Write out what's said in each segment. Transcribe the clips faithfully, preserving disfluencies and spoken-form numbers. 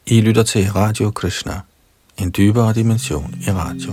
I lytter til Radio Krishna, en dybere dimension i radio.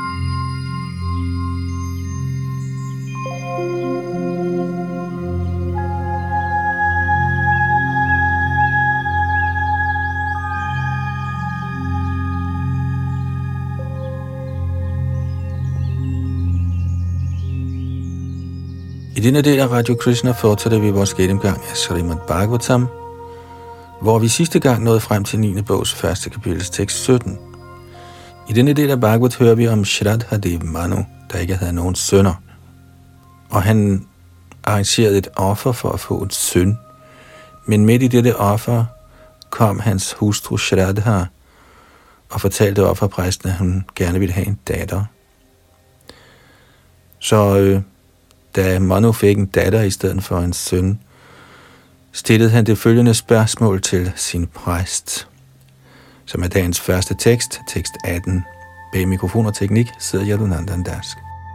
I denne del af Radio Krishna fortsætter vi vores gennemgang af Srimad Bhagavatam, hvor vi sidste gang nåede frem til niende bogs første kapitels tekst sytten. I denne del af Bhagavat hører vi om Shraddhadev Manu, der ikke havde nogen sønner. Og han arrangerede et offer for at få en søn. Men midt i dette offer kom hans hustru Shraddha og fortalte offerpræsten, at hun gerne ville have en datter. Så øh, da Manu fik en datter i stedet for en søn, stillede han det følgende spørgsmål til sin præst, som er dagens første tekst, tekst atten. Bag mikrofon og teknik sidder Yadunandan Das.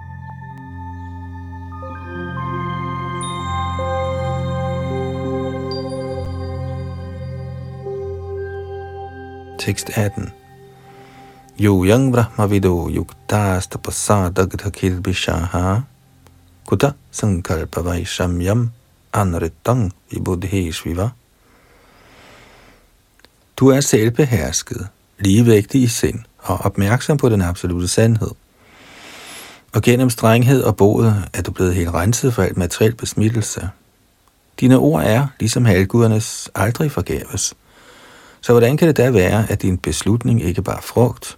Tekst atten. Yo yang brahma vido yuktas tapasadagdha kilbishaha kuta sankalpa vaishamyam anritang i buddheshviva. Du er selvbehersket, ligevægtig i sind og opmærksom på den absolute sandhed. Og gennem strenghed og bod er du blevet helt renset for alt materiel besmittelse. Dine ord er, ligesom halvgudernes, aldrig forgæves. Så hvordan kan det da være, at din beslutning ikke bare frugt?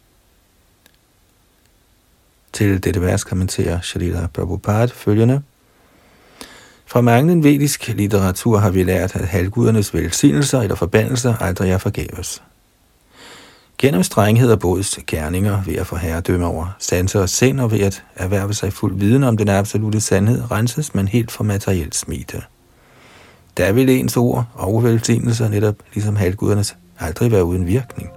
Til dette vers kommenterer Srila Prabhupada følgende. Fra manglende vedisk litteratur har vi lært, at halvgudernes velsignelser eller forbandelser aldrig er forgæves. Gennem strenghed og bods gerninger ved at få herredømme over sanser og sind og ved at erhverve sig fuld viden om den absolute sandhed, renses man helt for materielt smite. Der vil ens ord og velsignelser netop ligesom halvgudernes aldrig være uden virkning.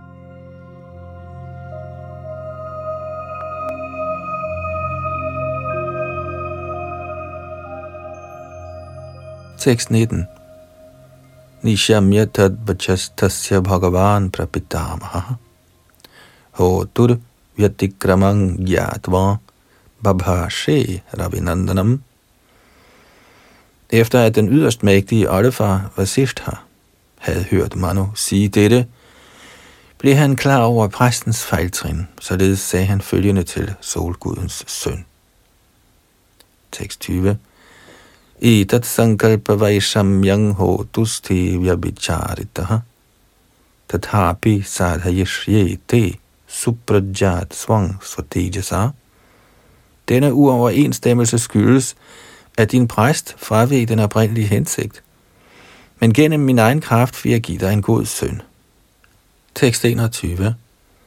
Tekst nitten. Nishamya tadvachastasya bhagavan prapitamaha hotur vyatikramang gyatva babhashe ravinandanam. Efter at den yderst mægtige oldefar Vasishtha havde hørt Manu sige dette, blev han klar over præstens fejltrin, således sagde han følgende til solgudens søn. Tekst tyve. Etat sankalpa vaishamyang hotusti vyabhicharitaha tathapi sadhayishyete suprajat svang svatejasa. Denne uoverensstemmelse skyldes, at din præst fraveg den oprindelige hensigt, men gennem min egen kraft vil jeg give dig en god søn. Tekst enogtyve.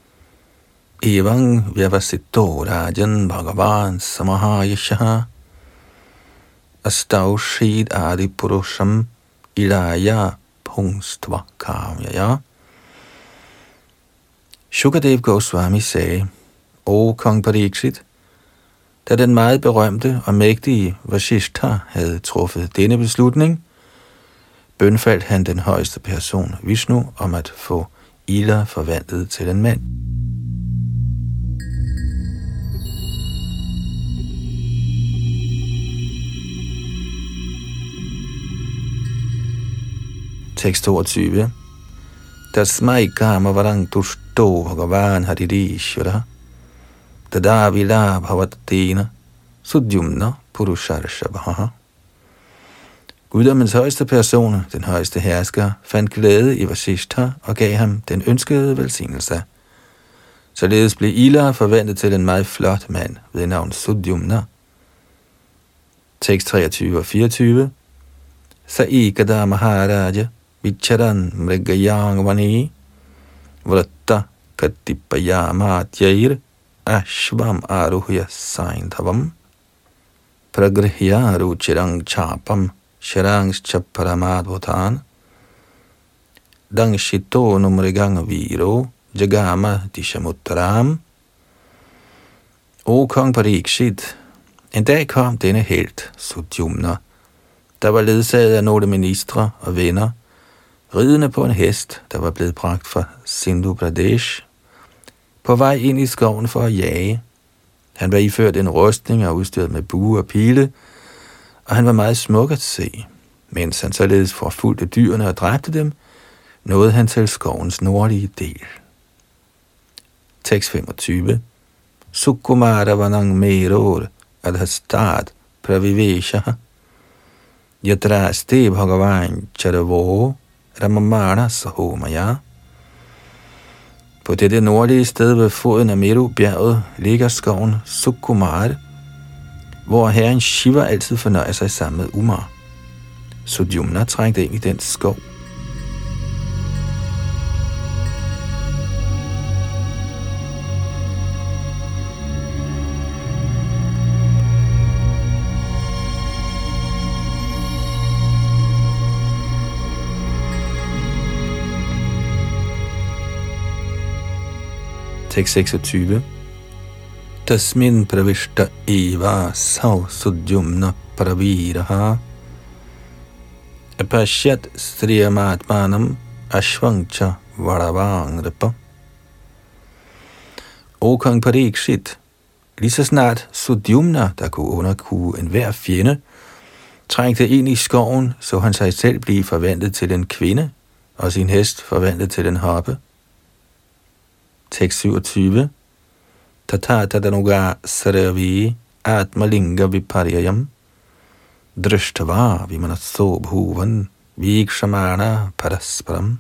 Evang vyavasito rajan bhagavan samahayashaha astaushid adi purusham ilaya pungstva kamyaya. Shukadev Goswami sagde, O kong Pariksit, da den meget berømte og mægtige Vasishtha havde truffet denne beslutning, bønfaldt han den højeste person, Vishnu, om at få Ila forvandlet til en mand. Tekst toogtyve. Tasmai kama varang tushto bhagavan haririshvara tada vila bhavatena sudyumna purusharshabha. Guddommens højeste person, den højeste hersker, fandt glæde i Vasishtha og gav ham den ønskede velsignelse. Således blev Ila forvandlet til en meget flot mand ved navn Sudyumna. Tekst treogtyve og fireogtyve. Saikada Maharaja Vicharan mrigayang vani vratta katipayamatyayir ashvam aruhya saindhavam pragrihya ruchirang chapam sharangscha paramadvotan dangshito numrigang viro jagama dishamuttaram. O kong Pariksit, en dag kom denne helt, Sudyumna, der var ledsaget af nogle ministre og venner, ridende på en hest, der var blevet bragt fra Sindhu Pradesh, på vej ind i skoven for at jage. Han var iført en rustning og udstyret med bue og pile, og han var meget smuk at se. Mens han således forfulgte dyrene og dræbte dem, nåede han til skovens nordlige del. Tekst femogtyve. Sukumara vanang meror adhastad pravivesha yadraste bhagavan charavo ramamana sahomaya. På dette nordlige sted ved foden af Meru-bjerget ligger skoven Sukumar, hvor herren Shiva altid fornøjer sig sammen med Umar. Sudyumna trængte ind i den skov. Tekst seksogtyve. Tasmin pravishta eva sav sudyumna praviraha apashyat striyamatmanam ashvangcha vadavangrapa. O kong Parikshit, lige så snart Sudyumna, der kunne underkue enhver fjende, trængte ind i skoven, så han sig selv blive forvandlet til en kvinde, og sin hest forvandlet til en hoppe. Tekst syvogtyve. Tata tadanuga saravi atmalinga viparyayam drishtava vimanatso bhuvan vikshamana parasparam.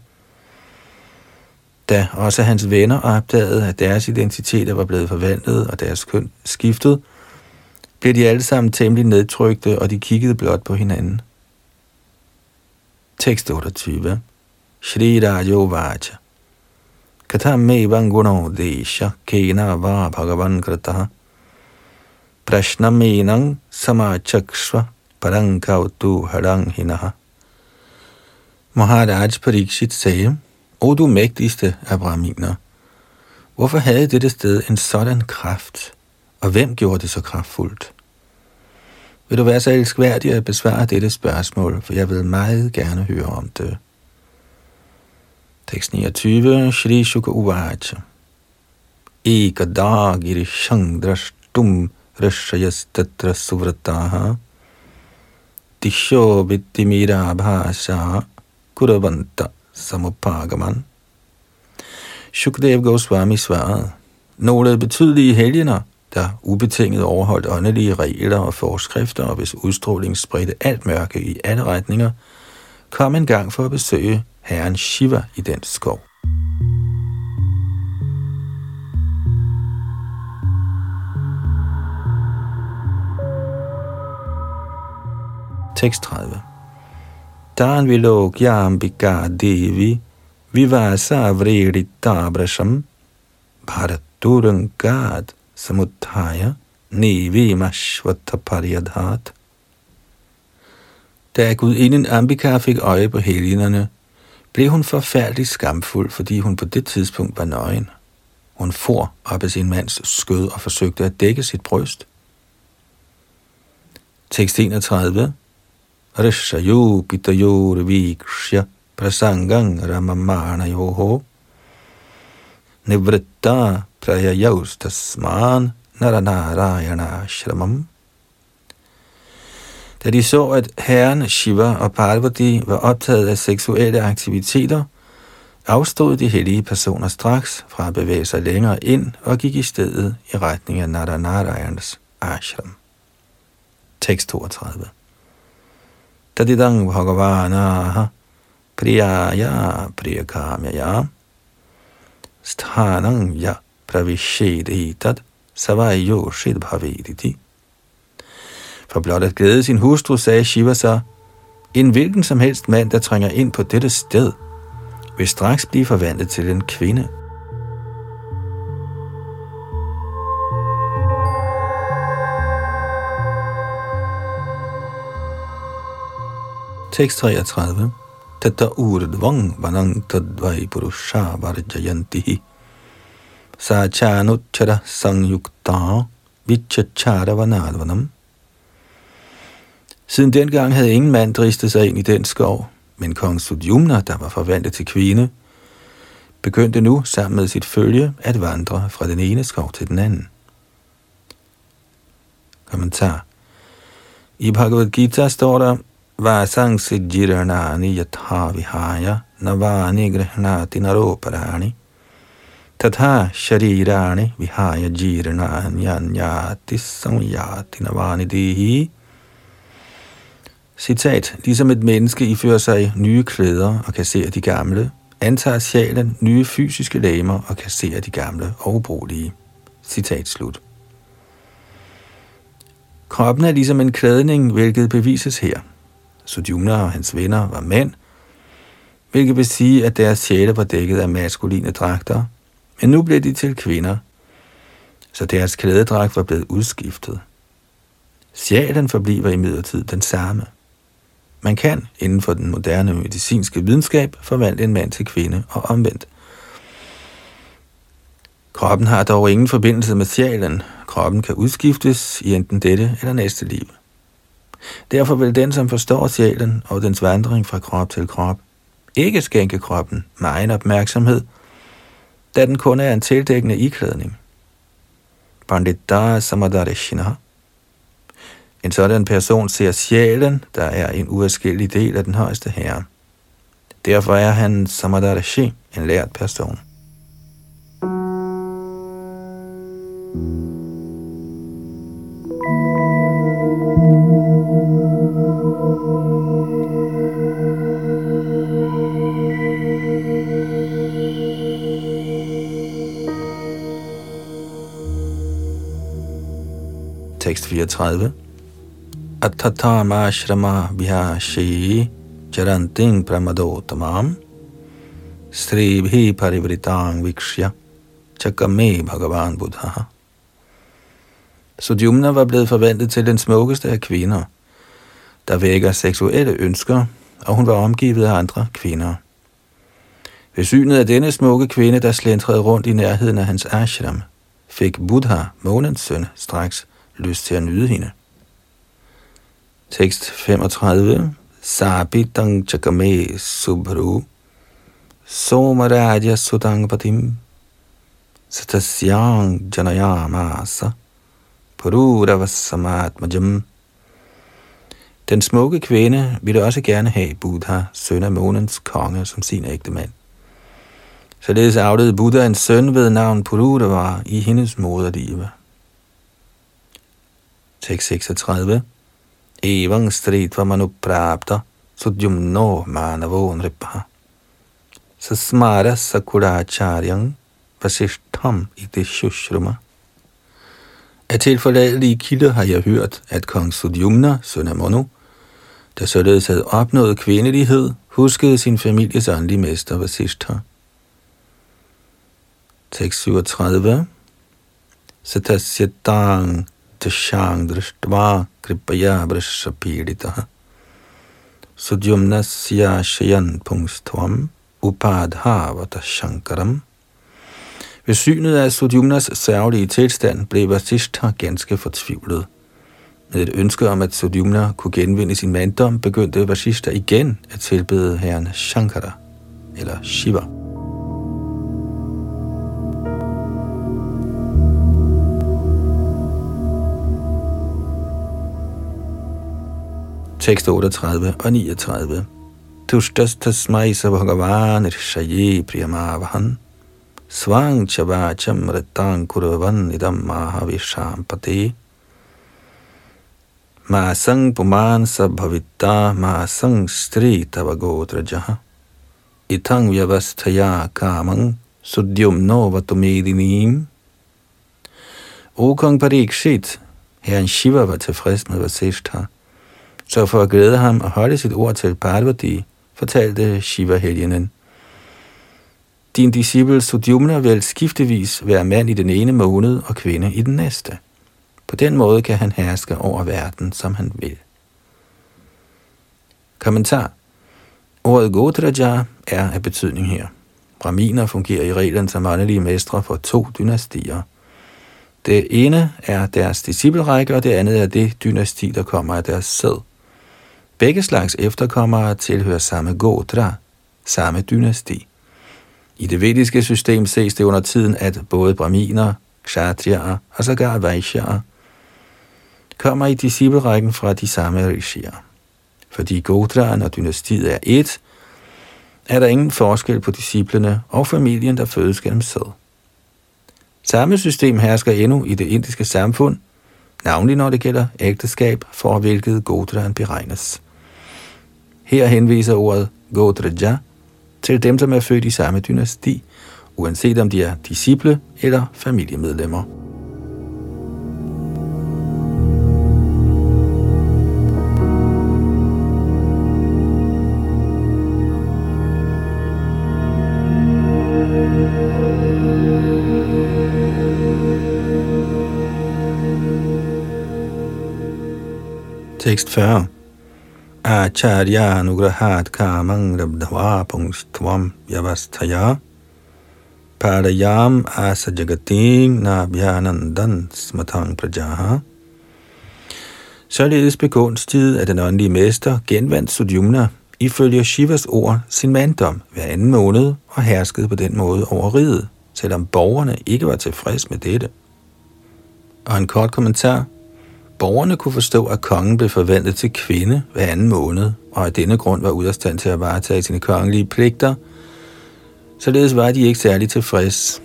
Da også hans venner opdagede, at deres identiteter var blevet forvandlet og deres køn skiftet, blev de alle sammen temmelig nedtrykte, og de kiggede blot på hinanden. Tekst otteogtyve. Shri Rajo Vacha Katham me vanguno desha kena va bhagavan krataha prashna menang samachakshva parankautu harang hinaha. Maharaj Parikshit sagde: O du mægtigste af brahminer, hvorfor havde dette sted en sådan kraft, og hvem gjorde det så kraftfuldt? Vil du være så elskværdig at besvare dette spørgsmål, for jeg vil meget gerne høre om det. Tekst niogtyve. Shri Shuka Uvacha Ekada girishang drashtum rashayas tatra suvrataha Disho vittimira bhasha kuravanta samupagaman. Shukdev Goswami svarede: Nogle betydelige helgener, der ubetinget overholdt åndelige regler og forskrifter, og hvis udstråling spredte alt mørke i alle retninger, kom en gang for at besøge herren Shiva i den skov. Tekst tredive. Dan vilokyambika devi vivasa vredita brasham bharaturangad samuthaya nevimashvataparyadhat. Da gudinden Ambika fik øje på helgenerne, blev hun forfærdeligt skamfuld, fordi hun på det tidspunkt var nøgen. Hun for op af sin mands skød og forsøgte at dække sit bryst. Tekst enogtredive. Rishayo pitayor vikshya prasangang ramamana yoho nivritta prayayaus tasman naranarayana shramam. Da de så, at herren Shiva og Parvati var optaget af seksuelle aktiviteter, afstod de hellige personer straks fra at bevæge sig længere ind og gik i stedet i retning af Naranarayanas ashram. Tekst toogtredive. Tadidang bhagavanaha priyaya priyakamyaya sthanang ya pravishedhitat savayo shidbhavediti. For blot at glæde sin hustru, sagde Shiva så: En hvilken som helst mand, der trænger ind på dette sted, vil straks blive forvandlet til en kvinde. Tekst treogtredive. Tata urdvang vanang tadvai purusha varjayantihi sachanuchara sangyukta vichachara vanadvanam. Siden dengang havde ingen mand dristet sig ind i den skov, Men kong Sudyumna, der var forvandlet til kvinde, begyndte nu sammen med sit følge at vandre fra den ene skov til den anden. Kommentar. I Bhagavad Gita står der, Vasang Sijirnani Yatha Vihaya Navani Grihnati Naroparani Tatha Sharirani Vihaya Jirnani Anyati Samyati Navani Dihi. Citat. Ligesom et menneske ifører sig nye klæder og kasserer de gamle, antager sjælen nye fysiske legemer og kasserer de gamle og ubrugelige. Citat slut. Kroppen er ligesom en klædning, hvilket bevises her. Sudyumna og hans venner var mænd, hvilket vil sige, at deres sjæle var dækket af maskuline dragter, men nu blev de til kvinder, så deres klædedragt var blevet udskiftet. Sjælen forbliver imidlertid den samme. Man kan, inden for den moderne medicinske videnskab, forvandle en mand til kvinde og omvendt. Kroppen har dog ingen forbindelse med sjælen. Kroppen kan udskiftes i enten dette eller næste liv. Derfor vil den, som forstår sjælen og dens vandring fra krop til krop, ikke skænke kroppen megen opmærksomhed, da den kun er en tildækkende iklædning. Pandita Samadarishina. En sådan person ser sjælen, der er en uadskillelig del af den højeste herre. Derfor er han Samadarishi, en lært person. Tekst fireogtredive. Atatama shrama vihashi charanting pramadotamam stribhi parivritang vikshya chakame bhagavan buddha. Sudyumna var blevet forvandlet til den smukkeste af kvinder, der vækker seksuelle ønsker, og hun var omgivet af andre kvinder. Ved synet af denne smukke kvinde, der slæntrede rundt i nærheden af hans ashram, fik Buddha, månens søn, straks lyst til at nyde hende. Tekst femogtredive. Sabitang chakame subhru somaraja sudangpatim satasyang janayamasa pururavasamatmajam. Den smukke kvinde ville også gerne have Buddha, søn af månens konge, som sin ægtemand. Således afledte Buddha en søn ved navn Pururava i hendes moderliv. Tekst seksogtredive. Evang stritva manuprapta sudyumno manavo nripa sasmara sakuracharyang vasishtham iti shushruma. Af tilforladelige kilder har jeg hørt, at kong Sudyumna, søn af Manu, der således havde opnået kvindelighed, huskede sin families åndelige mester Vasishtha. Tekst syvogtredive. Satasyatang tashang drishtva kripaya vrishapiditaha sudyumnasya shayan pungstvam upadhavata shankaram. Ved synet af Sudyumnas sørgelige tilstand blev Vasishtha ganske fortvivlet. Med et ønske om, at Sudyumna kunne genvinde sin manddom, begyndte Vasishtha igen at tilbede herren Shankara, eller Shiva. Tekst otteogtredive og niogtredive. Tushtas tasmai sa bhagavan irshaye priyamavahan svang chavacham retang kuravan idam mahavishampate masang puman sa bhavita masang stri tavagodrajaha itang vyavasthaya kamang sudyumno vatumedinim. O kong Parikshit, herren Shiva var tilfreds med Vasishtha. Så for at glæde ham og holde sit ord til Parvati, fortalte Shiva-helgenen: Din disciple Sudyumna vil skiftevis være mand i den ene måned og kvinde i den næste. På den måde kan han herske over verden, som han vil. Kommentar. Ordet Godraja er af betydning her. Brahminer fungerer i reglen som åndelige mestre for to dynastier. Det ene er deres disciplerække, og det andet er det dynasti, der kommer af deres sæd. Begge slags efterkommere tilhører samme Gotra, samme dynasti. I det vediske system ses det under tiden, at både brahminer, kshatriyaer og sågar vaishyaer kommer i disciplerækken fra de samme rishier. Fordi Gotraen og dynastiet er ét, er der ingen forskel på disciplene og familien, der fødes gennem sæd. Samme system hersker endnu i det indiske samfund, navnlig når det gælder ægteskab, for hvilket Gotraen beregnes. Her henviser ordet Gotraja til dem, som er født i samme dynasti, uanset om de er disciple eller familiemedlemmer. Tekst fyrre. Acharya anugrahat kamang rabdhava pungstvam yavasthaya parayam asajagatim nabhyanandan smatang prajaha. Således begunstiget af den åndelige mester genvandt Sudyumna ifølge Shivas ord sin manddom hver anden måned og herskede på den måde over riget, selvom borgerne ikke var tilfreds med dette. Og en kort kommentar. Borgerne kunne forstå, at kongen blev forvandlet til kvinde hver anden måned, og af denne grund var ude af stand til at varetage sine kongelige pligter, således var de ikke særlig tilfreds.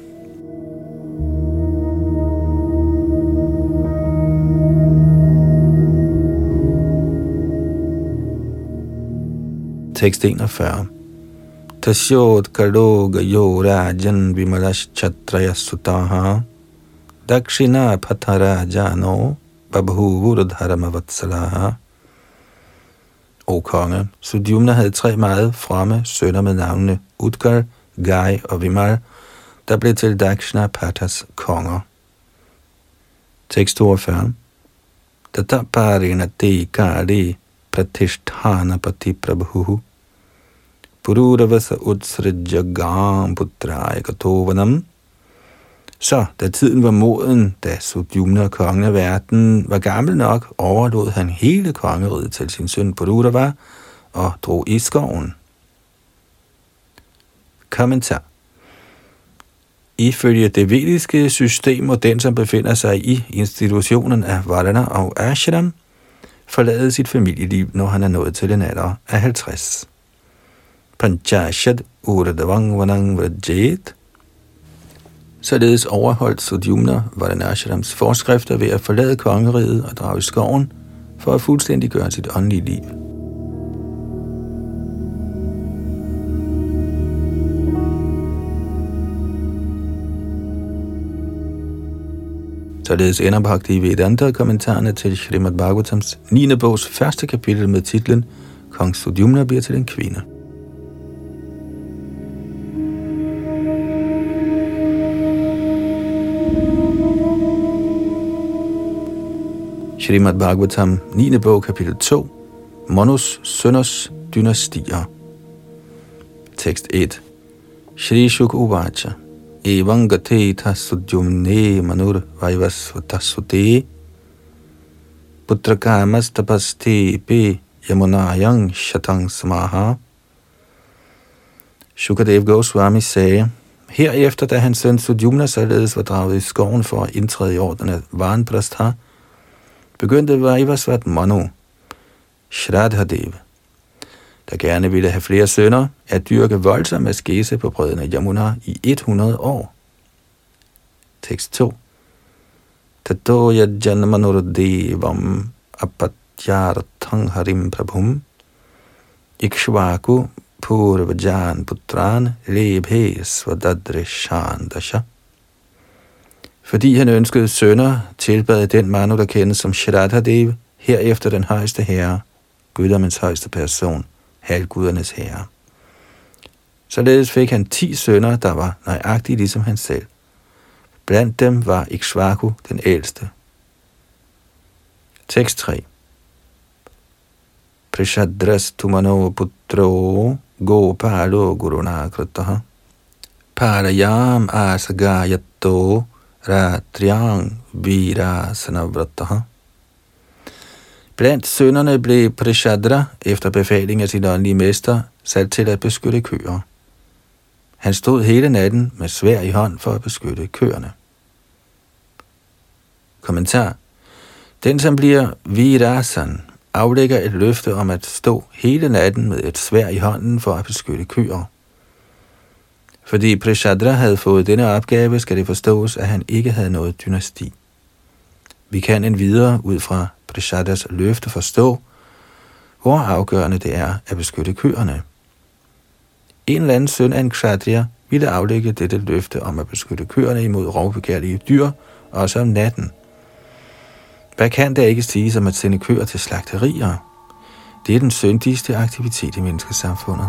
Tekst enogfyrre. Tasyot kaloga yo rajan vimalash chatraya sutaha dakshina pathara jano babhuvurdharamavatslaha. O konge, Sudyumna havde tre meget fremme sønner med navnene Udgal, Gai og Vimal, der blev til Dakshina Patas konger. Tekst toogfyrre. Tataparina te kari pratisthana pati prabhu pururavasa utsrajagam putraya katovanam. Så, da tiden var moden, da Sudyumna, kongen af verden, var gammel nok, overlod han hele kongeriget til sin søn Pururava og drog i skoven. Kommentar. Ifølge det vediske system må den, som befinder sig i institutionen af Varana og Ashram, forlade sit familieliv, når han er nået til en alder af halvtreds. Panchashad uradavang vanang vrajet. Således overholdt Sudyumna Vardanashrams forskrifter ved at forlade kongeriget og drage i skoven for at fuldstændig gøre sit åndelige liv. Således ender Bhakti-Vedanta-kommentarerne til Srimad Bhagavatams niende bogs første kapitel med titlen Kong Sudyumna bliver til en kvinde. Srimad Bhagavatam, niende bog, kapitel to, Manus sønners dynastier. Tekst et. Shri Shuka Uvacha Evangateta Sudyumne Manur Vaivasvatasute Putrakamas tapaste pe Yamunayang Shatang Samaha. Shukadev Goswami sagde, herefter da hans søn Sudyumna således var draget i skoven for at indtræde i orden af Vanprastha, begyndte Vaivasvat Manu, Shraddhadev, der gerne ville have flere sønner, at dyrke voldsom askese på bredden af Yamuna i hundrede år. Tekst to. Tatoya janmanurdevam apatyarthang harim prabhum ikshvaku purvajan putran lebhe svadadrishan dasha. Fordi han ønskede sønner, tilbad den Manu, der kendes som Shraddhadev, herefter den højeste herre, guddommens højeste person, halvgudernes herre. Således fik han ti sønner, der var nøjagtige ligesom han selv. Blandt dem var Ikshvaku den ældste. Tekst tre. Prishadras tumano putro gopalo gurunakrataha parayam asagayato ratriang virasanavrattaha. Blandt sønnerne blev Prishadra efter befaling af sin åndelige mester sat til at beskytte køer. Han stod hele natten med svær i hånd for at beskytte køerne. Kommentar. Den, som bliver Virasan, aflægger et løfte om at stå hele natten med et sværd i hånden for at beskytte køer. Fordi Prishadra havde fået denne opgave, skal det forstås, at han ikke havde noget dynasti. Vi kan endvidere ud fra Prishadras løfte forstå, hvor afgørende det er at beskytte køerne. En eller anden søn af en kshatriya ville aflægge dette løfte om at beskytte køerne imod rovbegærlige dyr, også om natten. Hvad kan der ikke siges om at sende køer til slagterier? Det er den syndigste aktivitet i menneskesamfundet.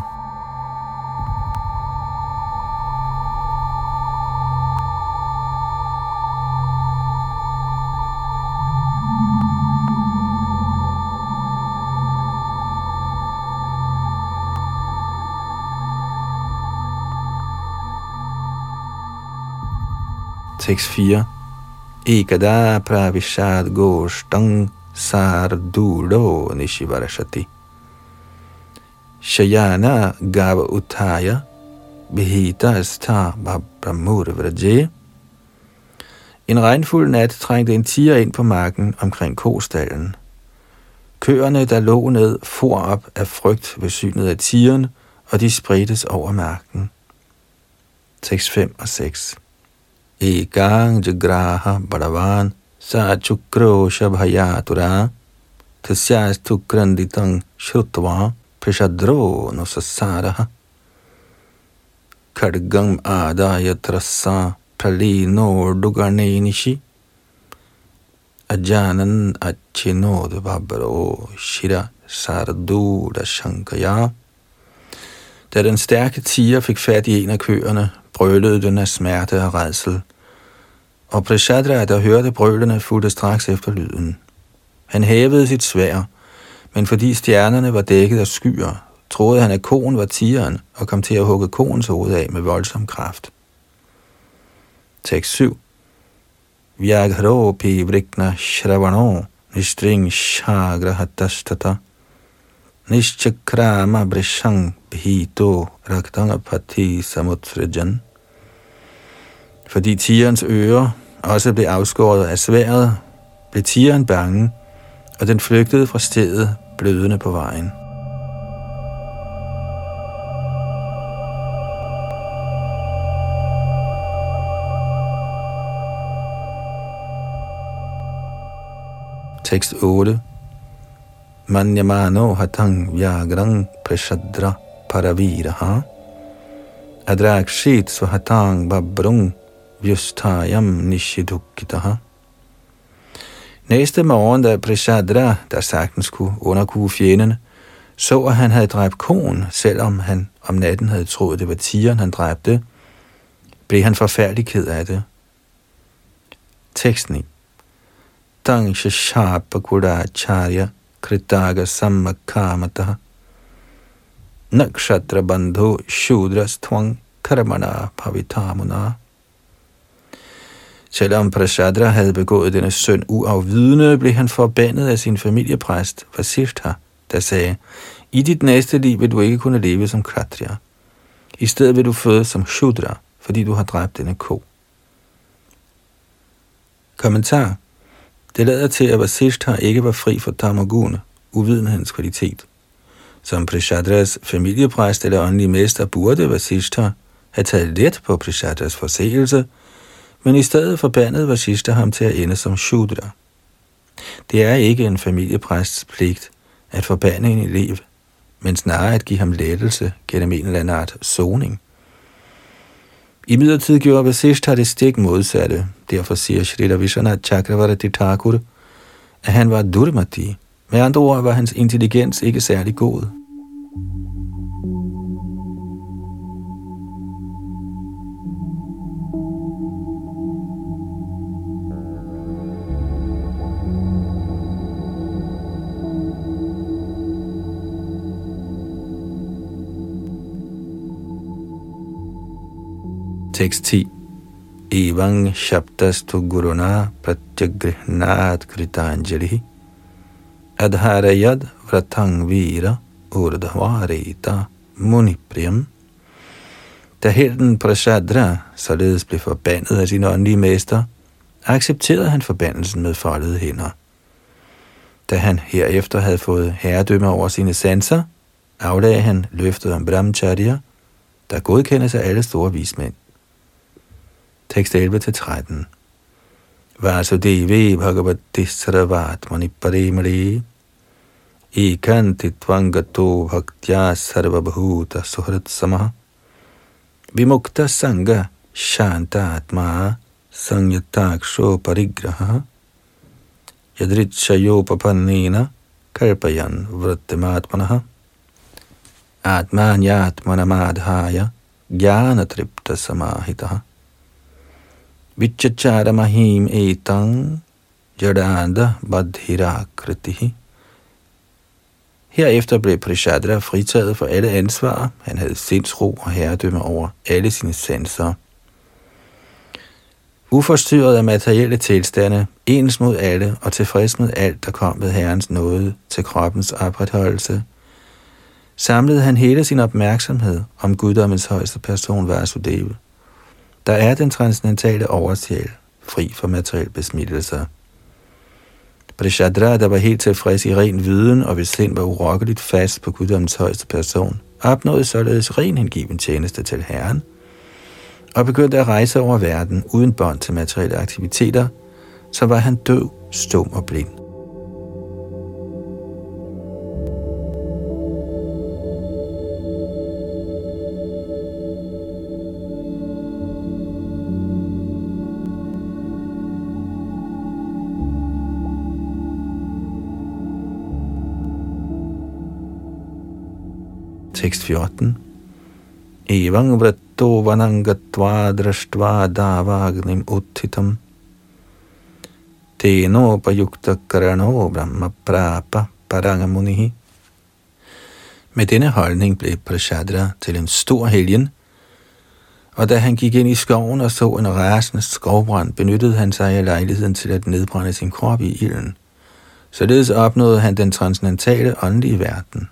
Tekst fire. Ekada pravishad goshtang sardulo nishivarashati. Shayana gava utaya behita sta babramur vraje. En regnfuld nat trængte en tiger ind på marken omkring kostallen. Køerne, der lå ned, for op af frygt ved synet af tigeren, og de spredtes over marken. Tekst fem og seks. Ekang jagraha badavan sa chukro shabhayatura tasyas tukranditang shrutva prishadro nusasaraha khadgam adaya trassa pralino duganenishi ajanan achinod babro shira sarduda shankaya. Da den stærke tiger fik fat i en af køerne, brølede den af smerte og rædsel. Og Prishadra, der hørte brølene, fulgte straks efter lyden. Han hævede sit sværd, men fordi stjernerne var dækket af skyer, troede han, at koen var tigeren, og kom til at hugge koens hoved af med voldsom kraft. Tekst syv. Vyaghropi vrikna shravano nistring shagrahatastata nishchakrama brishang bhito raktangapati samutsrajan. Fordi tigerens ører også blev afskåret af sværdet, blev tigeren bange, og den flygtede fra stedet blødende på vejen. Tekst otte. Manyamano hatang vyagrang prashadra paraviraha adrakshit swahatang babrung vyustayam nishidukitaha. Næste morgen, da Prishadra, der sagtens kunne underkue fjendene, så at han havde dræbt koen, selvom han om natten havde troet, det var tigeren, han dræbte, blev han forfærdelig ked af det. Tekst ni. Tang shashapa kudacharya kritaga sammakamataha nakshatra bandhu shudras tvang karmana pavitamuna. Selvom Prashadra havde begået denne synd uafvidende, blev han forbandet af sin familiepræst, Vasishtha, der sagde, i dit næste liv vil du ikke kunne leve som kshatriya. I stedet vil du fødes som shudra, fordi du har dræbt denne ko. Kommentar. Det lader til, at Vasishtha ikke var fri for tamaguna, uvidenhedens kvalitet. Som Prishadras familiepræst eller åndelige mester burde Vasishtha have taget let på Prishadras forseelse, men i stedet forbandede Vasishtha ham til at ende som shudra. Det er ikke en familiepræsts pligt at forbande en elev, men snarere at give ham lettelse gennem en eller anden art soning. I midlertid gjorde Vasishtha det stik modsatte. Derfor siger Shrila Vishwanath Chakravarti Thakur, at han var durmati. Med andre ord var hans intelligens ikke særlig god. Tekst ti. Evang shabdastu guruna pratyagrihnat kritanjalihi adharayad vratang vira urdhvareta munipriyam. Da helten Prashadra således blev forbandet af sin åndelige mester, accepterede han forbandelsen med foldede hænder. Da han herefter havde fået herredømme over sine sanser, aflagde han løftet om brahmacharya, der godkendes af alle store vismænd. Tekst elleve til tretten. Vasudevi bhagavati sarvat maniparimali ekanti tvangato bhaktya sarvabhuta suhrat samaha vimukta sangha shantatma sanyataksho parigraha yadritshayopapannena kalpayan vrattimatmanaha atmanyatmanamadhaya gyanatripta samahitaha vichacharamahim etang jadanda badhirakritihi. Herefter blev Prashadra fritaget for alle ansvar. Han havde sindsro og herredømme over alle sine sanser. Uforstyrret af materielle tilstande, ens mod alle og tilfreds med alt, der kom ved Herrens nåde til kroppens opretholdelse, samlede han hele sin opmærksomhed om guddommens højeste person Vasudeva, der er den transcendentale oversjæl, fri for materielle besmittelser. Prashadra, der var helt tilfreds i ren viden og hvis sind var urokkeligt fast på guddommens højeste person, opnåede således ren hengiven tjeneste til Herren og begyndte at rejse over verden uden bånd til materielle aktiviteter, så var han døv, stum og blind. Tekst fjorten. Evang vratto vanangatva drashtva davagnim uthitam teno payukta karano brahma prapa parangamunihi. Med denne holdning blev Prashadra til en stor helgen, og da han gik ind i skoven og så en rasende skovbrand, benyttede han sig af lejligheden til at nedbrænde sin krop i ilden. Således opnåede han den transcendentale åndelige verden.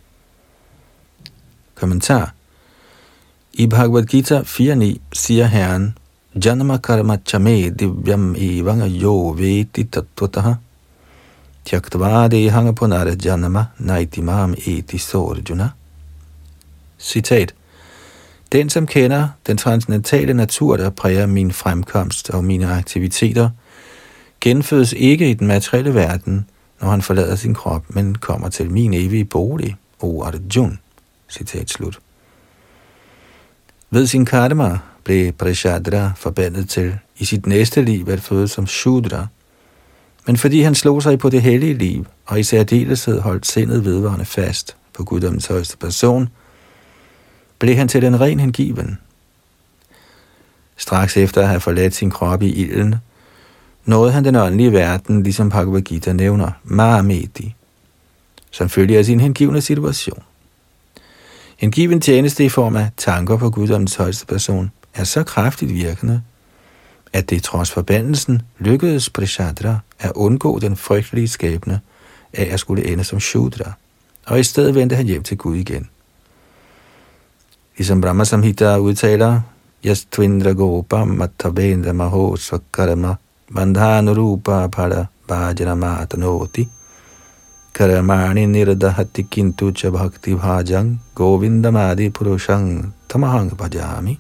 Kommentar. I Bhagavad Gita fire ni siger Herren, Janama karma chame divyam evang yo veti tattvataha tyaktva dehanga punara janama naitimam eti sorjuna. Citat. Den, som kender den transcendentale natur, der præger min fremkomst og mine aktiviteter, genfødes ikke i den materielle verden, når han forlader sin krop, men kommer til min evige bolig, O Arjuna. Citat slut. Ved sin karma blev Prashadra forbandet til i sit næste liv at føde som Shudra, men fordi han slog sig på det hellige liv, og i særdeleshed holdt sindet vedvarende fast på guddommens højeste person, blev han til den ren hengiven. Straks efter at have forladt sin krop i ilden, nåede han den åndelige verden, ligesom Bhagavad Gita nævner, Mahameti, som følger af sin hengivne situation. Hengiven tjeneste i form af tanker på guddommens højeste person er så kraftigt virkende, at det trods forbandelsen lykkedes Prashadra at undgå den frygtelige skæbne af at skulle ende som Shudra, og i stedet vendte han hjem til Gud igen. Ligesom Brahma Samhita udtaler, Yastvindra gopam matavendra maho sakarama bandhanurupa pada bhajanamatanoti karamani nirdahati kintu cha bhakti bhajang govindamadi purushang tamahang bhajami.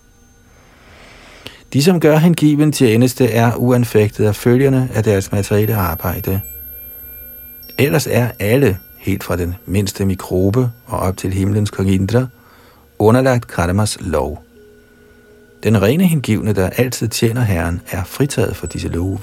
De, som gør hengiven tjeneste, er uanfægtet af følgerne af deres materielle arbejde. Ellers er alle, helt fra den mindste mikrobe og op til himlens kong Indra, underlagt karmas lov. Den rene hengivne, der altid tjener Herren, er fritaget for disse love.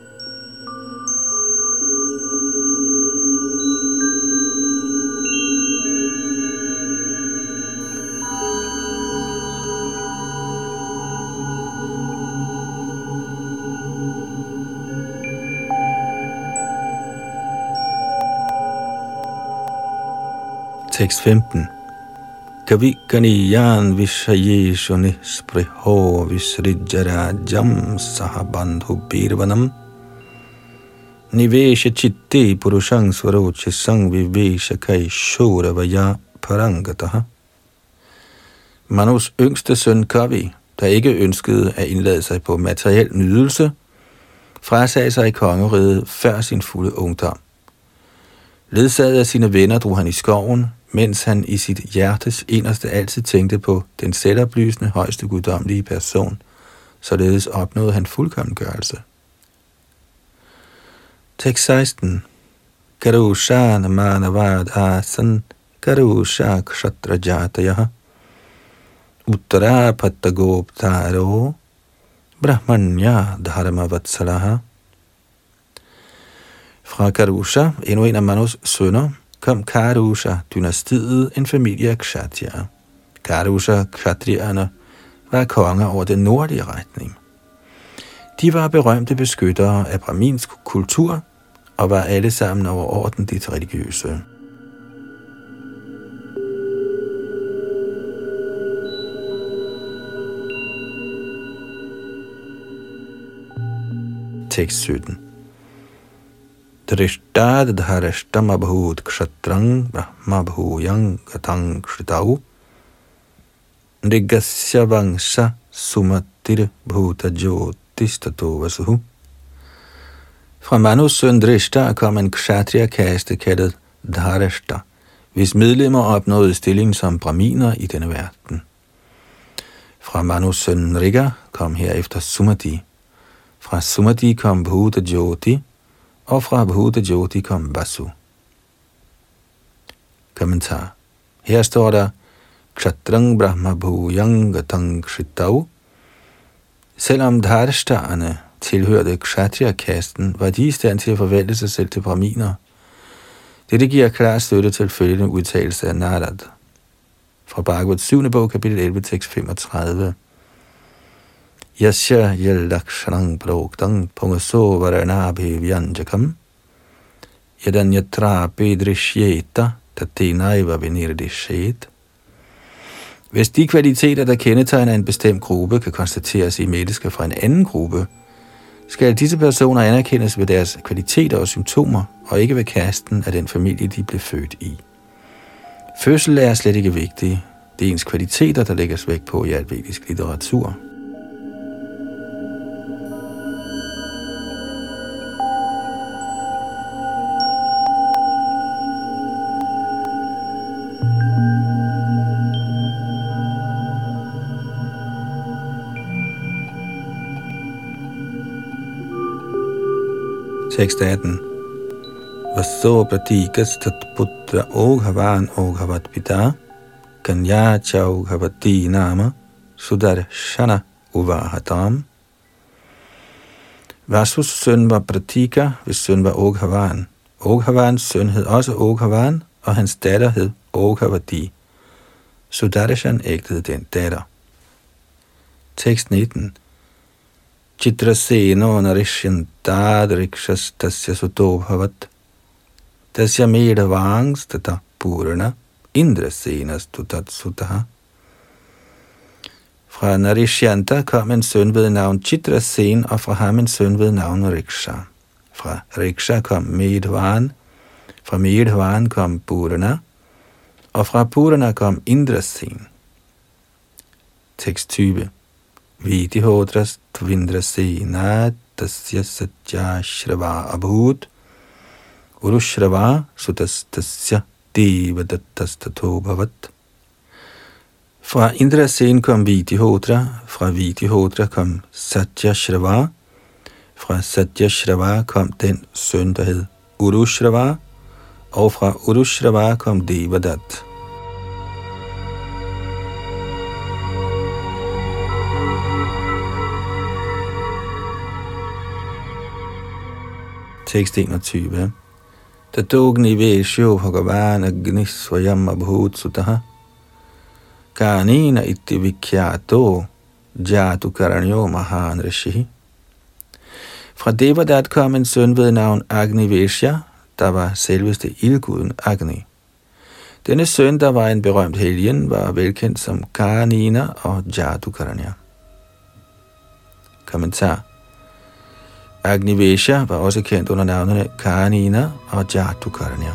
Tekst femten. Kavi kaniyan vishayeshu nispriho visrijjarajam sahabandhu birvanam Nivesha chitte purushang svaroche sang vivesha kai shora vaya parangataha. Manus yngste søn Kavi, der ikke ønskede at indlade sig på materiel nydelse, frasagde sig i kongeriget før sin fulde ungdom. Ledsaget af sine venner drog han i skoven, mens han i sit hjertes inderste altid tænkte på den selvoplysende højeste guddommelige person, således opnåede han fuldkommengørelse. Tekst seksten. Karusha namanavad asan karusha kshatrajatayaha uttara pattagoptaro brahmanya dharma vatsalaha. Fra Karusha, endnu en af Manus sønner, kom Karusha-dynastiet, en familie af kshatriyer. Karusha-kshatriyerne var konger over den nordlige retning. De var berømte beskyttere af brahminsk kultur og var alle sammen overordentligt religiøse. Tekst sytten. Drishtad dharashtam abhut kshatrang brahma bhuyang gatang kshritau Nigasya vangsha sumatir bhuta jyotistato vasuhu. Fra Manus søn Drishta kom en kshatriya-kaste kaldet Dharashta, hvis medlemmer opnåede stillingen som brahminer i denne verden. Fra Manus søn Nriga kom herefter Sumati. Fra Sumati kom Bhuta Jyoti, og fra Bhuta Jyoti kom Vasu. Kommentar. Her står der Kshatrang Brahma Bhuyang Gatang Kshritau. Selvom Dharashtaerne tilhørte Kshatriya-kasten, var de i stand til at forvandle sig selv til brahminer. Dette giver klar støtte til følgende udtalelse af Narad. Fra Bhagavats syvende bog, kapitel elleve, tekst femogtredive. Yasya yalakshanang proktang pungaso varanabhi vyanjakam yadanyatra pedrishyeta tatenaiva venirdishet. Hvis de kvaliteter, der kendetegner en bestemt gruppe, kan konstateres i mennesker fra en anden gruppe, skal disse personer anerkendes ved deres kvaliteter og symptomer, og ikke ved kasten af den familie, de blev født i. Fødsel er slet ikke vigtig. Det er ens kvaliteter, der lægges vægt på i al vedisk litteratur. Tekst atten. Vaso pratikas tat putra oghavan oghavat pita kanya chaughavati nama sudarshana uvahatam. Vasus søn var Pratika, hvis søn var Oghavan. Oghavans søn hed også Oghavan, og hans datter hed Oghavati. Sudarshan ægtede den datter. Tekst nitten. Chitraseno narishyantat rikshas tasya sutobhavat tasya medhavangs tata purana indrasenas tutat sutaha. Fra Narishyanta kom en søn ved navn Chitrasen, og fra ham en søn ved navn Riksha. Fra Riksha kom Medhavan, fra Medhavan kom Purana, og fra Purana kom Indrasen. Tekst tyve. Vidihotras tvindrasena tasya satya shrava abhut urushrava sutas tasya devadattastato bhavat. Fra Indrasen kom Vidhihotra, fra Vidhihotra kom Satya Shrava, fra Satya Shrava kom den søn, der hed Urushrava, og fra Urushrava kom Devadat. Tekst enogtyve. Tatogni vesho bhagavan agnis svayam abhut sutaha kanina iti vikyato jatu karanyo mahan rishi. Fra Devadat kom en søn ved navn Agni Veshya, der var selveste ildguden Agni. Denne søn, der var en berømt helgen, var velkendt som Kanina og Jatu Karanya. Kommentar. Agnivesha var også kendt under navnene Karanina og Jatukarnya.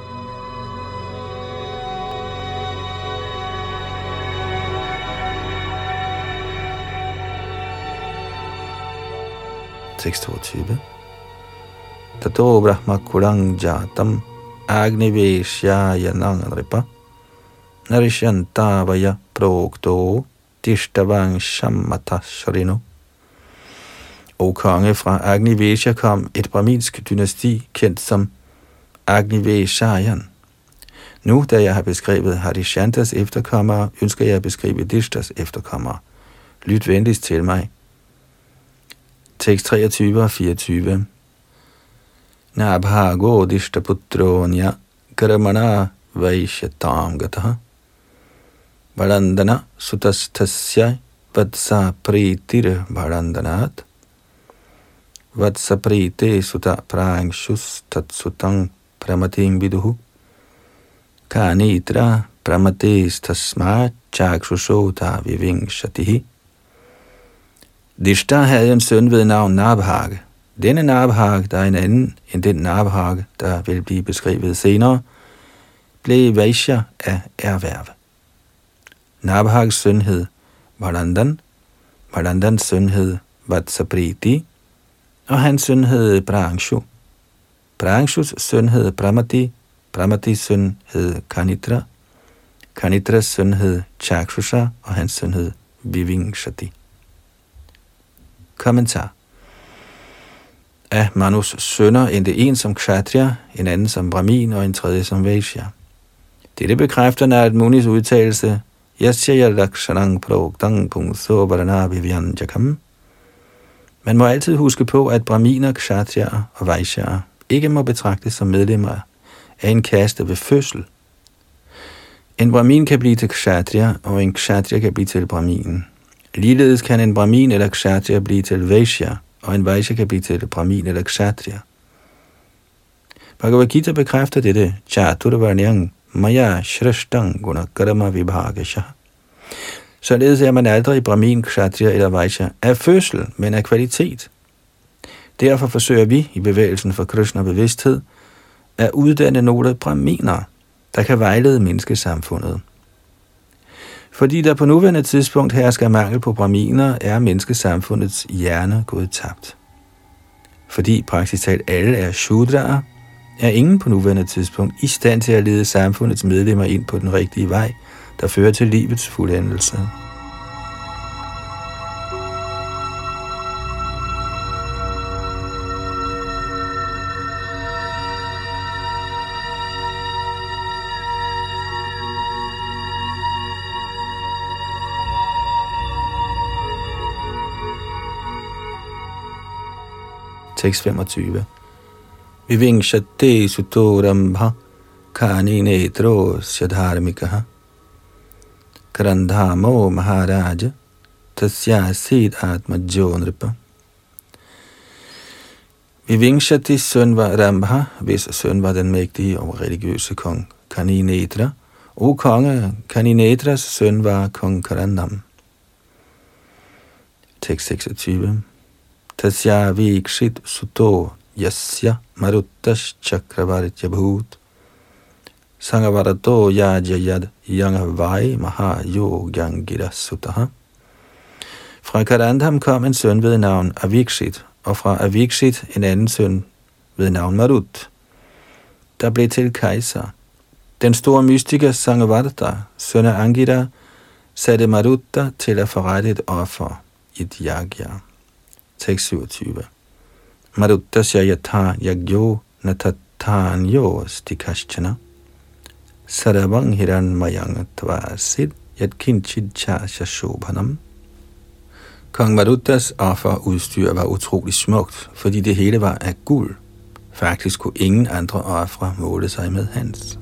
Tekst toogtyve. Tato brahma kurang jatam Agniveshyaya nanganripa Narishantavaya progto Dishtavangsham matasharino. O konge, fra Agnivesha kom et brahminsk dynasti, kendt som Agniveshayan. Nu, da jeg har beskrevet Harishantas efterkommere, ønsker jeg at beskrive Dishtas efterkommere. Lyt venligst til mig. Tekst treogtyve og fireogtyve. Nabhago Dishtaputronya Karamana Vaishyatam Gataha Varandana Sutastasya Vatsa Pritir Varandanat Vatsa Prite Sutta Prangshus Tatsutang Pramatim Viduhu Kanitra Pramates Tasma Chakshusota Vivingshatihi. Dishta havde en søn ved navn Nabhag. Denne Nabhag, der er en anden end den Nabhag, der vil blive beskrevet senere, blev Vaishya af erhverv. Nabhags søn hed Varandan, Varandans søn hed Vatsapriti, og hans søn hed Prangshu. Prangshus søn hed Pramati, Pramatis søn hed Kanitra, Kanitras søn hed Chakshusha, og hans søn hed Vivingshati. Kommentar. Af Manus sønner endte en som kshatriya, en anden som brahmin og en tredje som vaishya. Dette bekræfter Narad Munis udtalelse Yasyaya lakshanang progtang pungso varana vivyanjakam. Man må altid huske på, at brahminer, kshatriyaer og vaishyaer ikke må betragtes som medlemmer af en kaste ved fødsel. En brahmin kan blive til kshatriya, og en kshatriya kan blive til brahmin. Ligeledes kan en brahmin eller kshatriya blive til vaishya, og en vaishya kan blive til brahmin eller kshatriya. Bhagavad Gita bekræfter dette chaturvarnyang maya shrashtang gunakarma vibhagasha. Således er man aldrig brahmin, kshatriya eller vaishya af fødsel, men af kvalitet. Derfor forsøger vi i bevægelsen for Krishna bevidsthed at uddanne nogle brahminer, der kan vejlede menneskesamfundet. Fordi der på nuværende tidspunkt hersker mangel på brahminer, er menneskesamfundets hjerne gået tabt. Fordi praktisk talt alle er shudraer, er ingen på nuværende tidspunkt i stand til at lede samfundets medlemmer ind på den rigtige vej, der fører til livets fuldendelse. Tekst femogtyve. Vivingshate sutorambha kaninetro syadharmikaha karandhamo maharaja tasya sid atmajo nripa. Vivingshatis søn var Rambha, hvis søn var den mægtige og religiøse kong Kaninetra, og konge Kaninetras søn var kong Karandam. Tekst seksogtyve. Tasya vikshit suto yasya maruttas chakravartya bhut sangavarato yajayad yangavai maha yogangira sutaha. Fra Karandam kom en søn ved navn Avikshit, og fra Avikshit en anden søn ved navn Marut, der blev til kejser. Den store mystiker Sangavarta, søn af Angira, satte Marutta til at forrette et offer, et yagya. Tekst syvogtyve. Maruttasya yatha yagyo natatanyo stikashchana sarabang hiranmayang tvasid yatkinchid chasya shobhanam. Kong Maruttas offerudstyr var utrolig smukt, fordi det hele var af guld. Faktisk kunne ingen andre ofre måle sig med hans.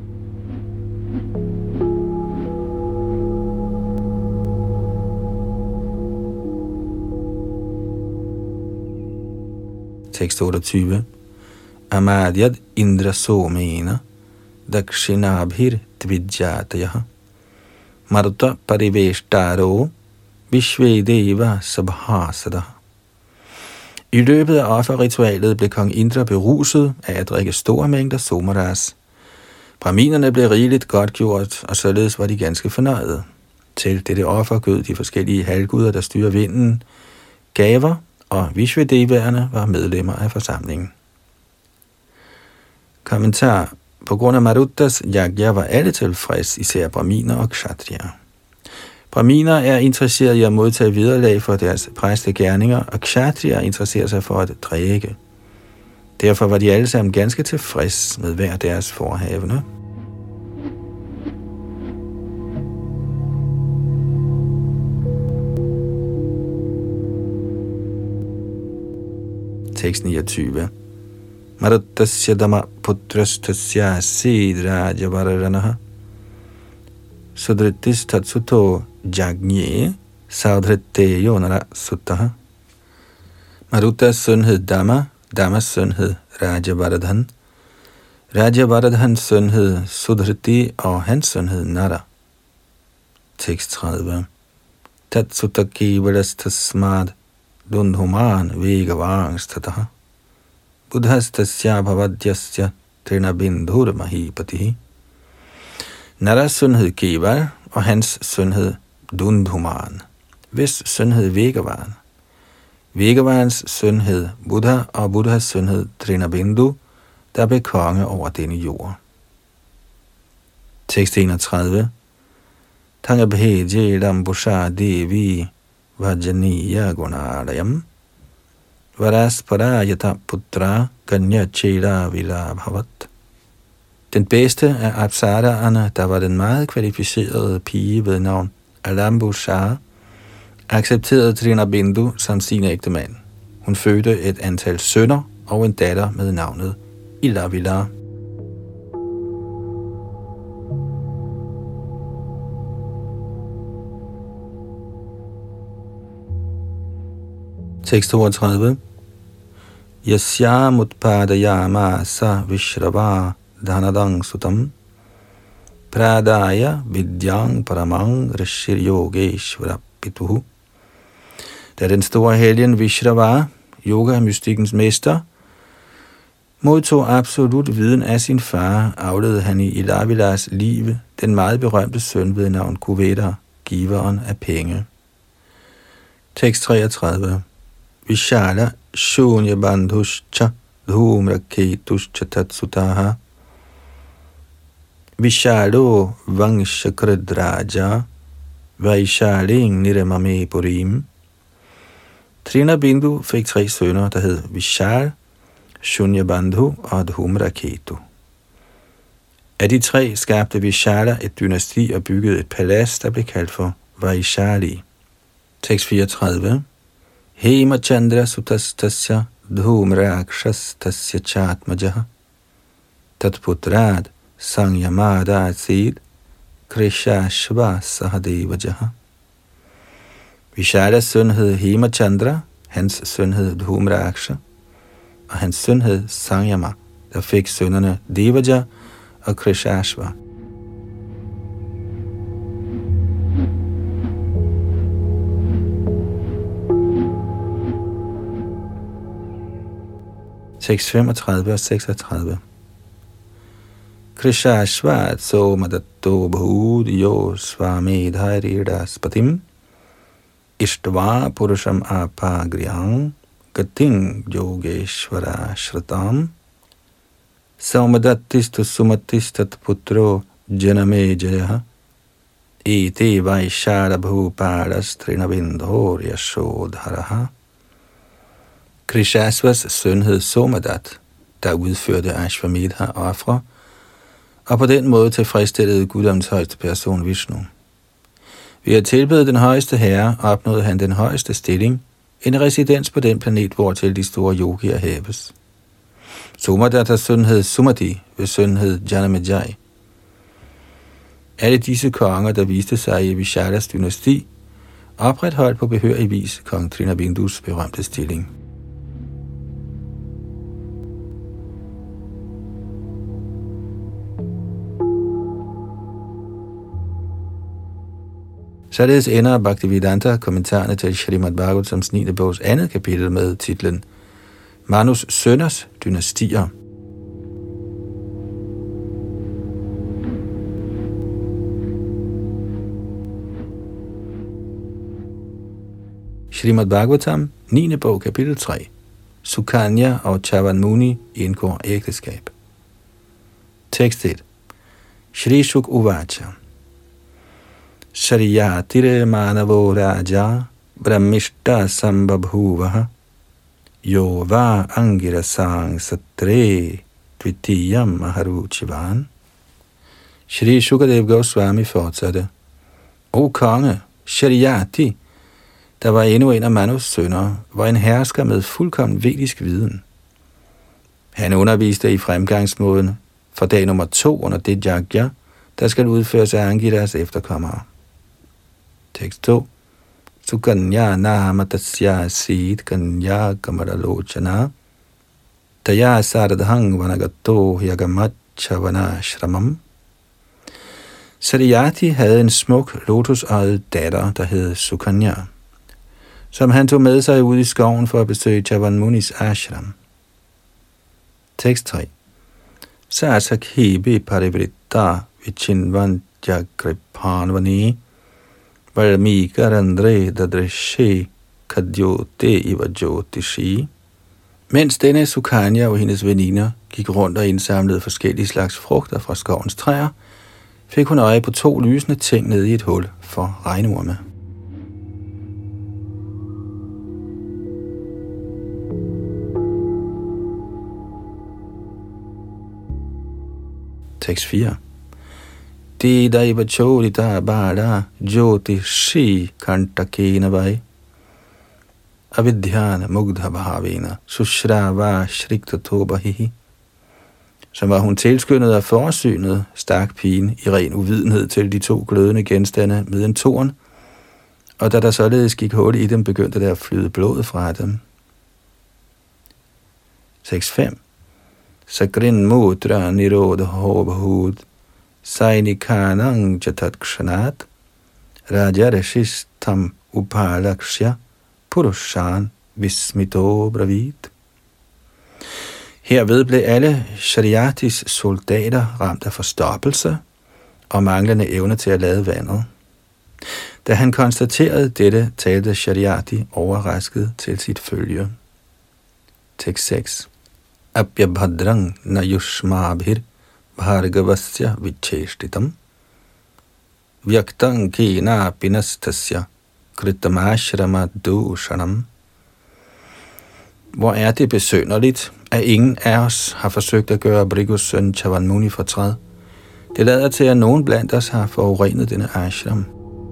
Tekst otteogtyve. Amadyad indra somena dakshinabhir dvidjatayaha marutta pariveshtaro vishvedeva sabhasada. I løbet af offerritualet blev kong Indra beruset af at drikke store mængder somaras. Brahminerne blev rigeligt godtgjort, og således var de ganske fornøjede. Til dette offer gød de forskellige halvguder, der styrer vinden, gaver, og Vishvadevaerne var medlemmer af forsamlingen. Kommentar. På grund af Maruttas yagya var alle tilfreds, især brahminer og kshatriya. Brahminer er interesseret i at modtage vederlag for deres præstegerninger, og kshatriya interesserer sig for at drikke. Derfor var de alle sammen ganske tilfreds med hver deres forhavne. Tekst niogtyve. Maruttasya dama putrastasya sidraja vararanaha sudritis tatsuto jagnye saudritte yonara suttaha. Maruttas søn hed Dama, Damas søn hed Rajavaradhan, Rajavaradhans søn hed Sudhriti, og hans søn hed Nara. Tekst tredive. Tatsutaki velastasmad dundhuman vegavangstataha buddhastasya bhavadyasya trinabindhur mahipatihi. Naras søn hed Keval, og hans søn hed Dundhuman, hvis søn hed Vegavan. Vegavans søn hed Buddha, og Buddhas søn hed Trinabindu, der blev konge over denne jord. Tekst enogtredive. Tangabheje dambusha devi vajaniya gunadayam varasparayata putra ganya chela vilabhavat. Den bedste af apsaraerne, der var den meget kvalificerede pige ved navn Alambusha, accepterede Trinabindu som sin ægtemand. Hun fødte et antal sønner og en datter med navnet Ilavila. Tekst toogtredive. Yasya mutpadayama sa vishrava dhanadang sutam pradaya vidyang paramang rishir yogeshvara pituhu. Da den store helgen Vishrava, yoga-mystikkens mester, modtog absolut viden af sin far, afledede han i Ilavilas liv den meget berømte søn ved navn Kuveda, giveren af penge. Tekst treogtredive. Vishala shunya bandhuscha dhumraketuscha tatsutaha Vishalo vangshakradraja vaishaling niramame purim. Trinabindu fik tre sønner, der hed Vishal, Shunyabandhu og Dhumraketu. Af de tre skabte Vishala et dynasti og byggede et palads, der blev kaldt for Vaishali. Tekst fireogtredive. Hema Chandra Sutastasya Dhumrakshastasya Chatmajaha Tatputrad Sangyamada Asid Krishashva Sahadevajaha. Vishalas søn hed Hema Chandra, hans søn hed Dhumraksha, og hans søn hed Sangyama, der fik sønnerne Devaja og Krishashva. Tekst femogtredive og seksogtredive. Krishashvat somadatto bhudyo svamedharidas patim ishtva purusham apagriyang gating yogeshvara shratam somadattistu sumatistat putro janame jayaha ete vaishara bhupadas trinabindhor yashodharaha. Krishashvas søn hed Somadat, der udførte Ashvamedha-ofre, og på den måde tilfredsstillede guddommens højeste person Vishnu. Ved at tilbede den højeste herre opnåede han den højeste stilling, en residens på den planet, hvortil de store yogier hæves. Somadatas søn hed Sumati, hvis søn hed Janamejai. Alle disse konger, der viste sig i Vishalas dynasti, opretholdt på behørig vis kong Trinabindus berømte stilling. Således ender Bhaktivedanta kommentarerne til Srimad Bhagavatams niende bogs andet kapitel med titlen Manus sønners dynastier. Srimad Bhagavatam, niende bog, kapitel tre. Sukanya og Chavan Muni indgår ægteskab. Tekst et. Shri Shuk Uvacha. Shariyatire manavo raja brahmishta sambabhuvaha yo va angirasang satre dvitiyam maharuchivan. Shri Shukadev Goswami fortsatte. O konge, Shariyati, der var endnu en af Manus sønner, var en hersker med fuldkommen vedisk viden. Han underviste i fremgangsmåden for dag nummer to under det yajna, der skal udføres af Angiras efterkommere. Tekst to. Sukanya nama tasya sid kanya kamaralochana taya saradhang vanagato yagamacha shramam. Sariyati havde en smuk lotusøjet datter, der hed Sukanya, som han tog med sig ud i skoven for at besøge Chavan Munis ashram. Tekst tre. Sasakhibi parivritta vichinvantya kripanvani valmikarandre dadrishe kadyote ivajyotishi. Mens denne Sukanya og hendes veninder gik rundt og indsamlede forskellige slags frugter fra skovens træer, fik hun øje på to lysende ting nede i et hul for regnorme. Tekst fire. Dida ivachorita bada jyoti shi kantakena vai avidhyana mugdha bhavena sushrava shriktatobahihi. Som var hun tilskyndet af forsynet, stak pigen i ren uvidenhed til de to glødende genstande med en torn, og da der således gik hul i dem, begyndte der at flyde blod fra dem. Tekst fem. Sakrin mudra nirodha hobahud sainikanang jatat kshanat rajarashistam upalakshya purushan vismito bravit. Herved blev alle Shariyatis soldater ramt af forstoppelse og manglende evne til at lade vandet. Da han konstaterede dette, talte Shariyati overrasket til sit følge. Tekst seks. Abhyabhadrang na yushmabhir bhargavasya vicheshtitam vyaktang kina pinastasya kritamashramat dushanam. Hvor er det besynderligt, at ingen af os har forsøgt at gøre Brigus søn Chavan Muni fortræd. Det lader til, at nogen blandt os har forurenet denne ashram.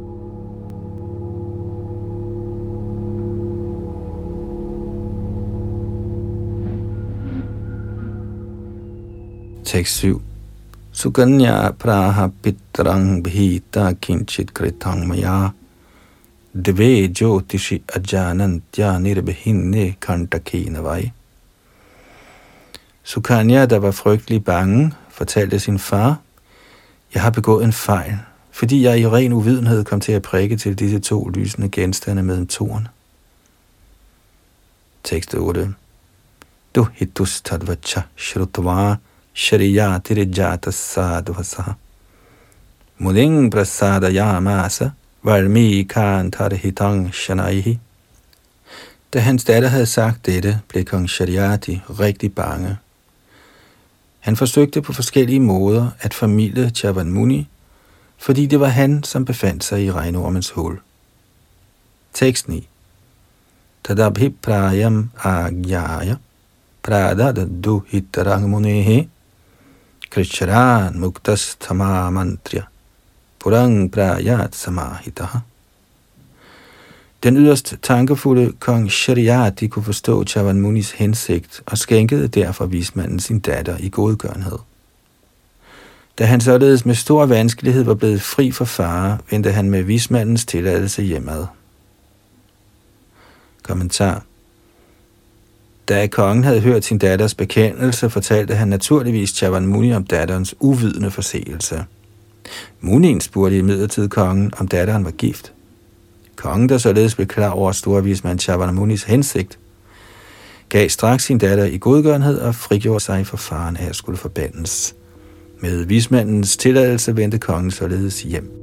Tekst syv. Sukanya praha pitrang bhita kinchit kritang maya dve jyotishi ajanantya nirbehinne kantakena vai. Sukanya, der var frygtelig bange, fortalte sin far: Jeg har begået en fejl, fordi jeg i ren uvidenhed kom til at prikke til disse to lysende genstande med en torn. Tekst otte. Du hitus tadvacha shrutva Shariyati rijata sadvasaha muding prasada yamasa valmikantarhitang shanaihi. Da hans datter havde sagt dette, blev kong Shariyati rigtig bange. Han forsøgte på forskellige måder at formilde Chavan Muni, fordi det var han, som befandt sig i regnormens hul. Tekst ni. Tadabhiprayam agyaya pradadadu hitarang munehe krishran muktas tamamantriya purang prayat samahitaha. Den yderst tankefulde kong Shariyati kunne forstå Chavan Munis hensigt og skænkede derfor vismanden sin datter i godgørenhed. Da han således med stor vanskelighed var blevet fri for fare, vendte han med vismandens tilladelse hjemad. Kommentar. Da kongen havde hørt sin datters bekendelse, fortalte han naturligvis Chavan Muni om datterens uvidende forseelse. Munien spurgte imidlertid kongen, om datteren var gift. Kongen, der således blev klar over storvismand Chavan Munis hensigt, gav straks sin datter i godgørenhed og frigjorde sig for faren af at skulle forbandes. Med vismandens tilladelse vendte kongen således hjem.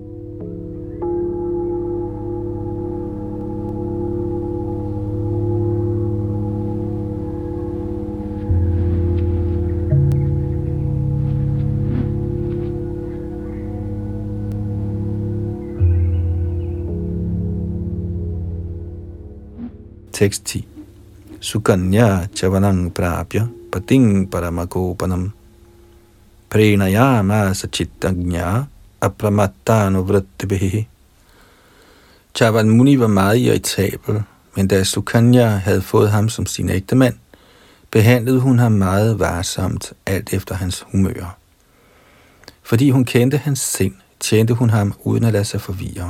Tekst ti. Sukanya chavanang prapya pating paramakopanam prenayama sachittagnya apramattano vrattibihi. Chavan Muni var meget irritabel, men da Sukanya havde fået ham som sin ægtemand, behandlede hun ham meget varsomt, alt efter hans humør. Fordi hun kendte hans sind, tjente hun ham uden at lade sig forvirre.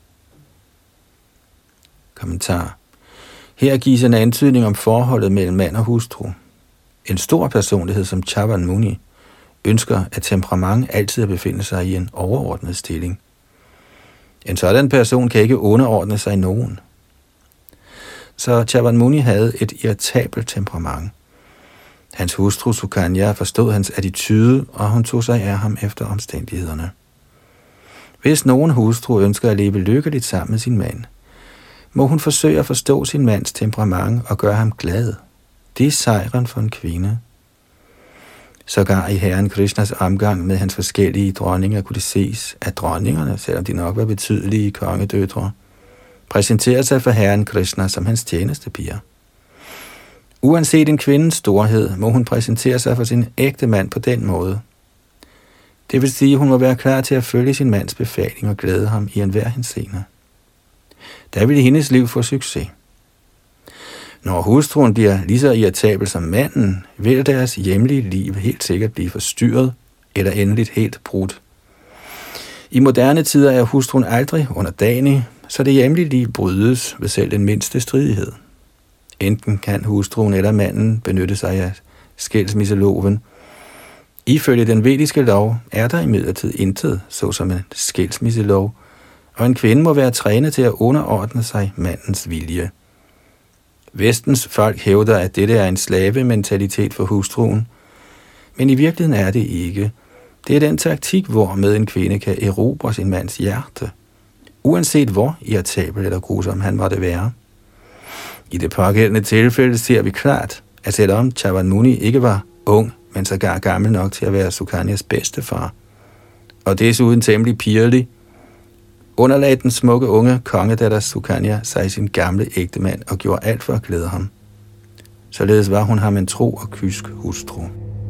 Kommentar. Her gives en antydning om forholdet mellem mand og hustru. En stor personlighed som Chavan Muni ønsker at temperament altid at befinde sig i en overordnet stilling. En sådan person kan ikke underordne sig nogen. Så Chavan Muni havde et irritabelt temperament. Hans hustru Sukanya forstod hans attitude, og hun tog sig af ham efter omstændighederne. Hvis nogen hustru ønsker at leve lykkeligt sammen med sin mand, må hun forsøge at forstå sin mands temperament og gøre ham glad. Det er sejren for en kvinde. Sågar i herren Krishnas omgang med hans forskellige dronninger kunne det ses, at dronningerne, selvom de nok var betydelige kongedøtre, præsenterede sig for herren Krishna som hans tjenestepiger. Uanset en kvindes storhed, må hun præsentere sig for sin ægte mand på den måde. Det vil sige, at hun må være klar til at følge sin mands befaling og glæde ham i enhver henseende. Der vil hendes liv få succes. Når hustruen bliver lige så irritabel som manden, vil deres hjemlige liv helt sikkert blive forstyrret eller endeligt helt brudt. I moderne tider er hustruen aldrig underdanig, så det hjemlige liv brydes ved selv den mindste stridighed. Enten kan hustruen eller manden benytte sig af skilsmisseloven. Ifølge den vediske lov er der imidlertid intet, såsom en skilsmisselov, og en kvinde må være trænet til at underordne sig mandens vilje. Vestens folk hævder, at dette er en slavementalitet for hustruen, men i virkeligheden er det ikke. Det er den taktik, hvormed en kvinde kan erobre sin mands hjerte, uanset hvor irritabel eller grusom han måtte være. I det pågældende tilfælde ser vi klart, at selvom Chavan Muni ikke var ung, men sågar gammel nok til at være Sukanyas bedstefar, og desuden temmelig pirlig, underlagde den smukke unge kongedatter Sukanya sig sin gamle ægtemand og gjorde alt for at glæde ham. Således var hun ham en tro og kysk hustru.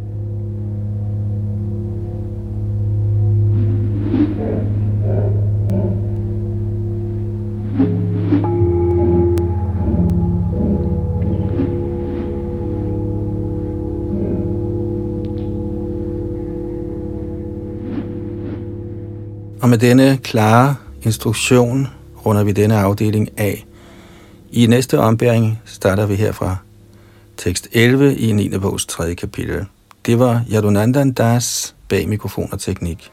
Og med denne klare instruktion runder vi denne afdeling af. I næste ombæring starter vi her fra tekst elleve i niende bogs tredje kapitel. Det var Yadunandan Das bag mikrofon og teknik.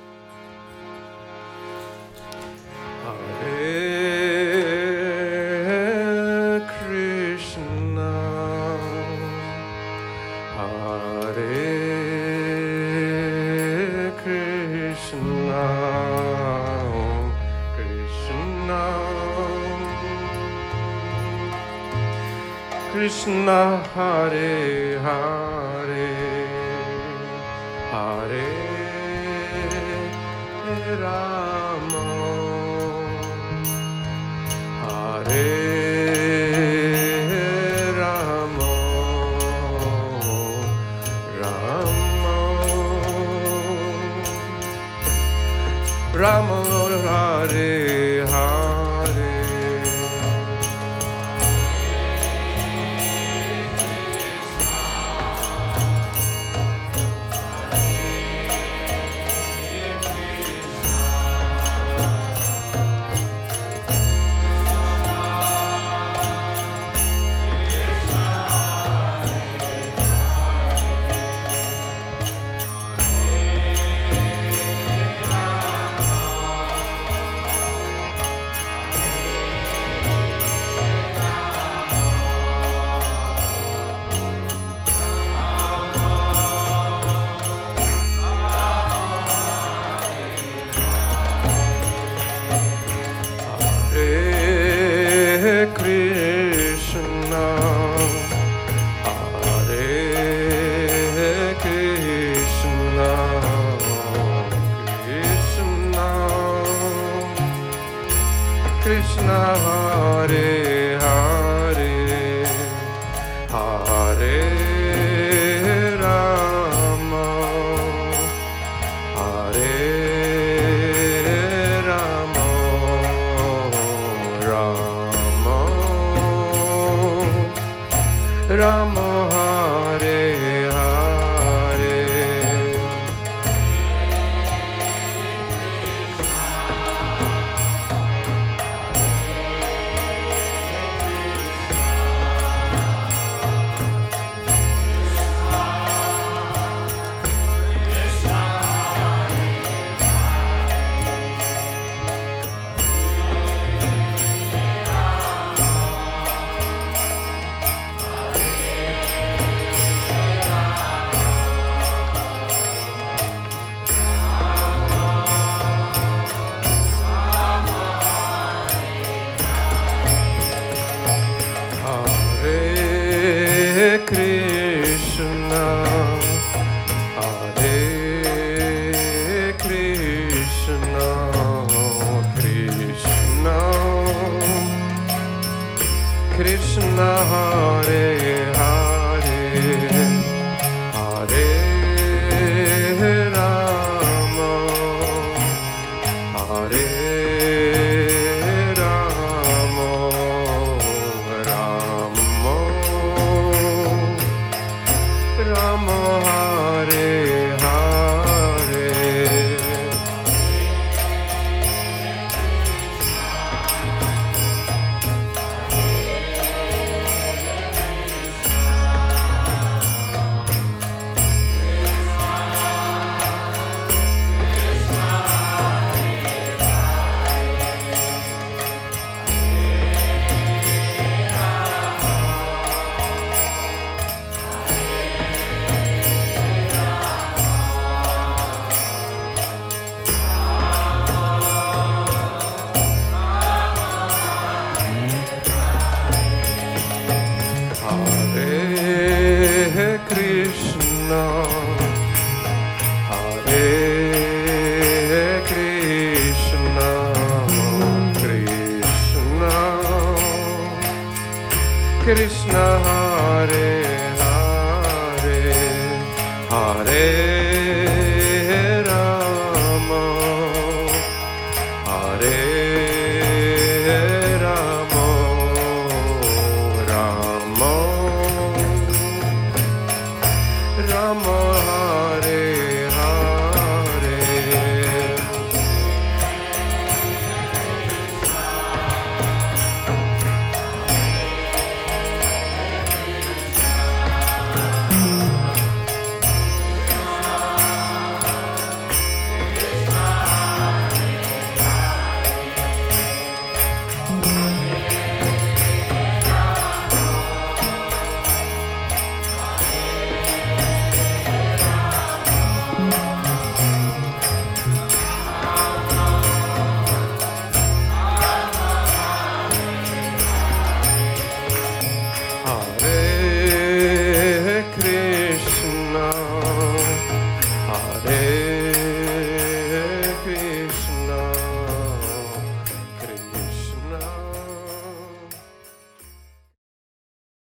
Krishna Hare Hare Hare Rama Hare Rama Rama Rama Hare Hare Krishna, Hare Krishna, Krishna, Krishna Hare Hare, Hare Rama, Hare Rama, Rama, Rama Hare Hare. Hare Krishna, Hare Krishna, Krishna, Krishna Hare Hare, Hare Rama, Hare Rama, Rama, Rama Hare Hare. Hare Krishna, Hare Krishna, Krishna, Krishna Hare